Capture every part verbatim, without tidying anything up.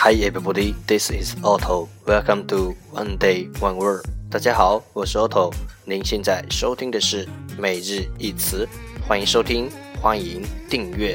Hi everybody, this is Otto. Welcome to One Day One Word. 大家好，我是 Otto。您现在收听的是每日一词，欢迎收听，欢迎订阅。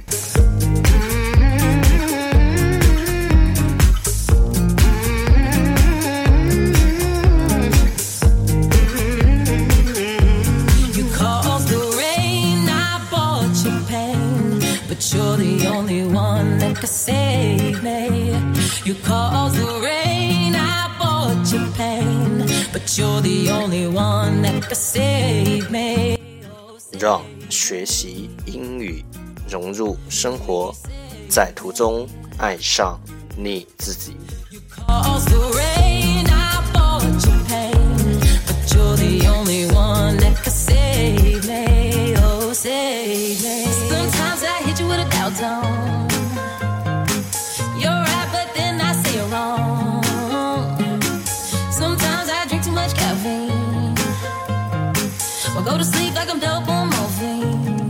You're the only one that could save me. You caused the rain, I bought your pain. But you're the only one that could save me. 让学习英语融入生活，在途中爱上你自己。 You caused the rain, I bought your pain. But you're the only one that could save me. Oh, save me. Sometimes I hit you with a doubt zone. You're right, but then I say you're wrong. Sometimes I drink too much caffeine. Or go to sleep like I'm dope on morphine.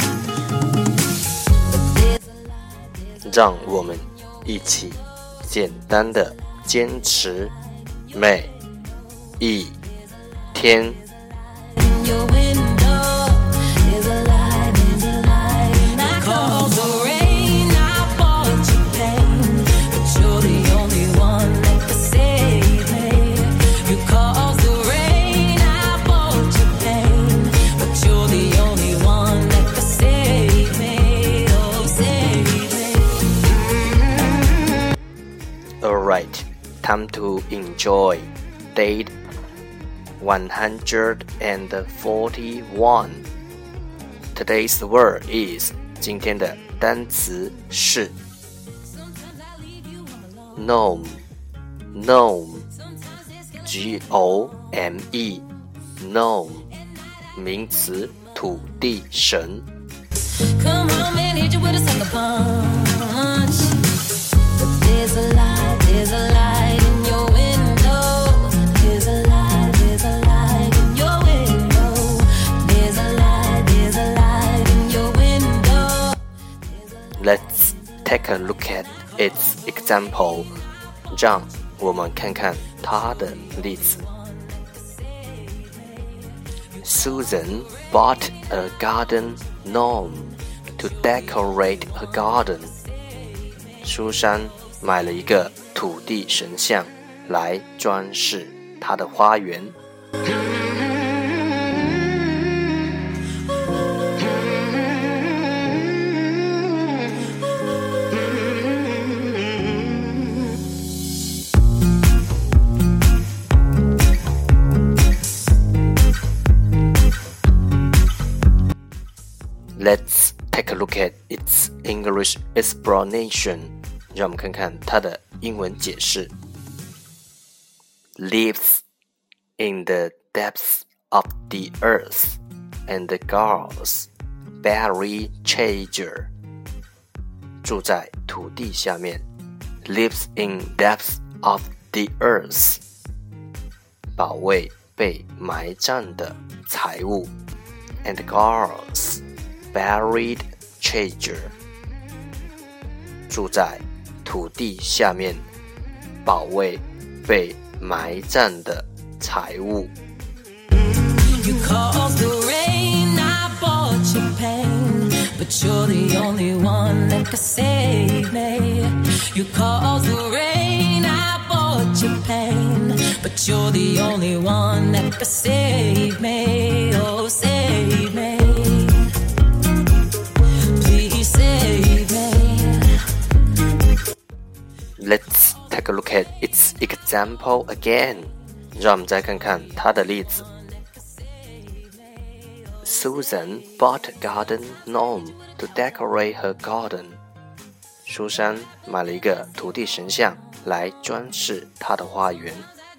让我们一起简单的坚持每一天。Alright, time to enjoy date one hundred forty-one. Today's word is 今天的单词是 Gnome, Gnome, G O M E, Gnome, 名词土地神。 Come on, man, hit you with a sucker punch. There's a light, there's a light in your window. There's a light, there's a light in your window. There's a light, there's a light in your window. Let's take a look at its example. 让我们看看它的例子。Susan bought a garden gnome to decorate her garden. 苏珊买了一个土地神像来装饰她的花园。Let's take a look at its English explanation. 让我们看看它的英文解释。Lives in the depths of the earth and guards buried treasure. 住在土地下面 Lives in depths of the earth. 保卫被埋葬的财物 and guards buried treasure. 住在土地下面，保卫被埋葬的财物。 You caused the rain, I bought your pain, but you're the only one that could save me. You caused the rain, I bought your pain, but you're the only one that could save me. Oh, save me. Please save me. Let's take a look at its example again. 让我们再看看它的例子。Susan bought a garden gnome to decorate her garden. 苏珊买了一个土地神像来装饰她的花园。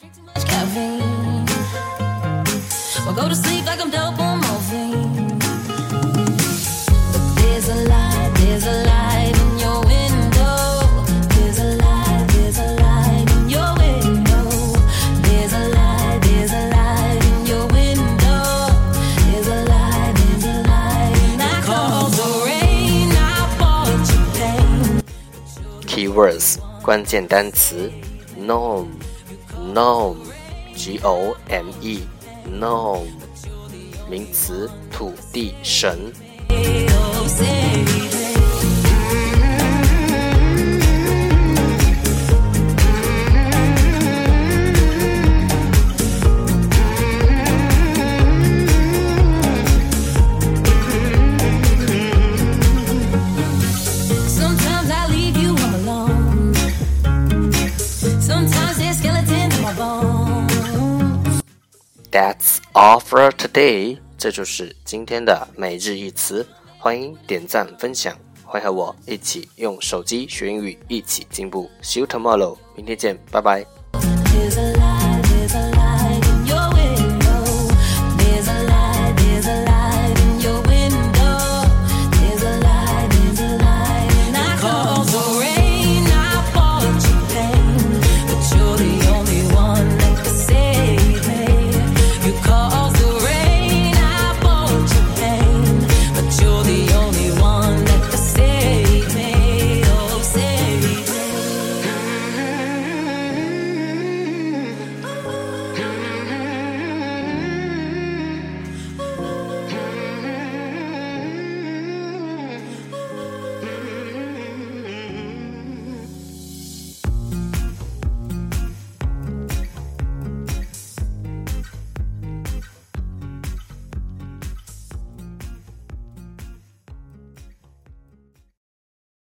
Or go to sleep like I'm dope on morphine. There's a light, there's a light in your window. There's a light, there's a light in your window. There's a light, there's a light in your window. There's a light, there's a light. I call the rain, I bought your pain. Keywords 关键单词 Gnome Gnome G O M E Gnome 名词土地神。That's all for today. 这就是今天的每日一词。欢迎点赞分享，欢迎和我一起用手机学英语，一起进步。See you tomorrow. 明天见，拜拜。